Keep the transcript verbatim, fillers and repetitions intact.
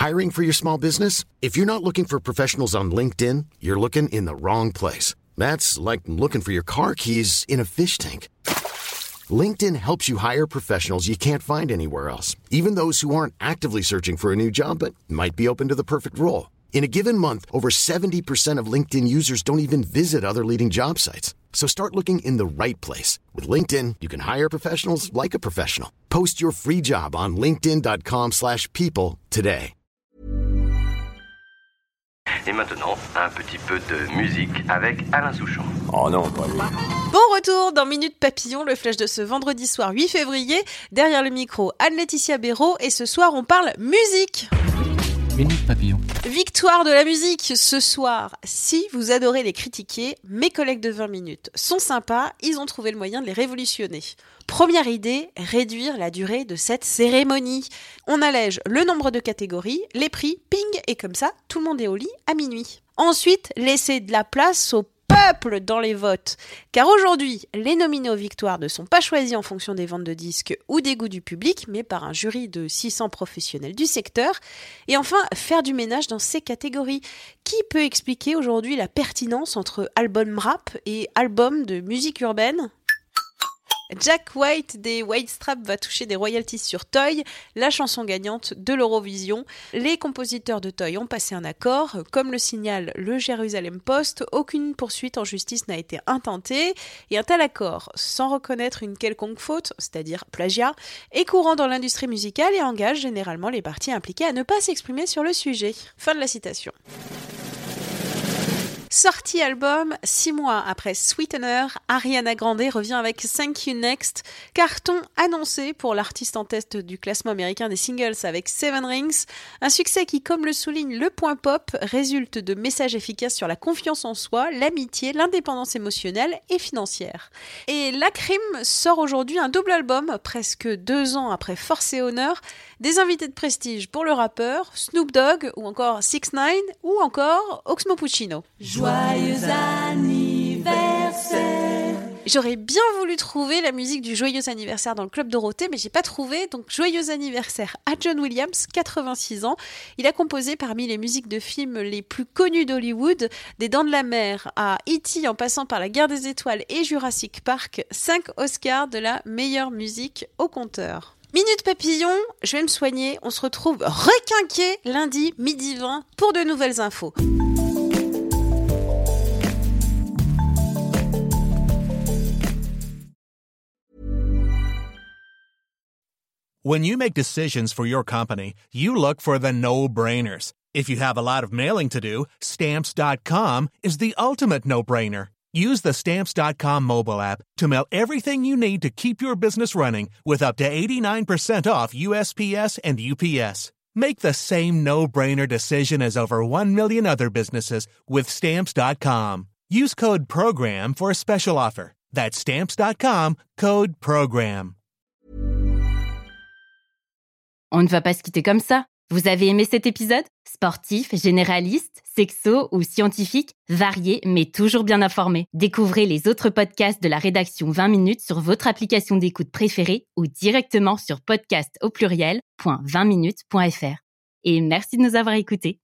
Hiring for your small business? If you're not looking for professionals on LinkedIn, you're looking in the wrong place. That's like looking for your car keys in a fish tank. LinkedIn helps you hire professionals you can't find anywhere else, even those who aren't actively searching for a new job but might be open to the perfect role. In a given month, over seventy percent of LinkedIn users don't even visit other leading job sites. So start looking in the right place. With LinkedIn, you can hire professionals like a professional. Post your free job on linkedin.com slash people today. Et maintenant, un petit peu de musique avec Alain Souchon. Oh non, pas lui. Bon retour dans Minute Papillon, le flash de ce vendredi soir huit février. Derrière le micro, Anne-Laetitia Béraud et ce soir on parle musique. Minute Papillon. Victoire de la musique ce soir. Si vous adorez les critiquer, mes collègues de vingt minutes sont sympas, ils ont trouvé le moyen de les révolutionner. Première idée, réduire la durée de cette cérémonie. On allège le nombre de catégories, les prix, ping, et comme ça, tout le monde est au lit à minuit. Ensuite, laisser de la place au peuple dans les votes. Car aujourd'hui, les nominés aux victoires ne sont pas choisis en fonction des ventes de disques ou des goûts du public, mais par un jury de six cents professionnels du secteur. Et enfin, faire du ménage dans ces catégories. Qui peut expliquer aujourd'hui la pertinence entre album rap et album de musique urbaine ? Jack White des White Strap va toucher des royalties sur Toy, la chanson gagnante de l'Eurovision. Les compositeurs de Toy ont passé un accord. Comme le signale le Jérusalem Post, aucune poursuite en justice n'a été intentée. Et un tel accord, sans reconnaître une quelconque faute, c'est-à-dire plagiat, est courant dans l'industrie musicale et engage généralement les parties impliquées à ne pas s'exprimer sur le sujet. Fin de la citation. Sortie album, six mois après Sweetener, Ariana Grande revient avec Thank You Next, carton annoncé pour l'artiste en tête du classement américain des singles avec Seven Rings, un succès qui, comme le souligne le Point Pop, résulte de messages efficaces sur la confiance en soi, l'amitié, l'indépendance émotionnelle et financière. Et La Crime sort aujourd'hui un double album, presque deux ans après Force et Honneur, des invités de prestige pour le rappeur, Snoop Dogg ou encore six ix ou encore Oxmo Puccino. Joyeux anniversaire. J'aurais bien voulu trouver la musique du Joyeux anniversaire dans le Club Dorothée, mais j'ai pas trouvé, donc Joyeux anniversaire à John Williams, quatre-vingt-six ans. Il a composé parmi les musiques de films les plus connues d'Hollywood, des Dents de la Mer à E T en passant par La Guerre des Étoiles et Jurassic Park, cinq Oscars de la meilleure musique au compteur. Minute Papillon, je vais me soigner, on se retrouve requinqué lundi midi vingt pour de nouvelles infos. When you make decisions for your company, you look for the no-brainers. If you have a lot of mailing to do, Stamps dot com is the ultimate no-brainer. Use the Stamps dot com mobile app to mail everything you need to keep your business running with up to eighty-nine percent off U S P S and U P S. Make the same no-brainer decision as over one million other businesses with Stamps dot com. Use code PROGRAM for a special offer. That's Stamps dot com, code PROGRAM. On ne va pas se quitter comme ça. Vous avez aimé cet épisode ? Sportif, généraliste, sexo ou scientifique, varié mais toujours bien informé. Découvrez les autres podcasts de la rédaction vingt minutes sur votre application d'écoute préférée ou directement sur podcast au pluriel point vingt minutes point f r. Et merci de nous avoir écoutés.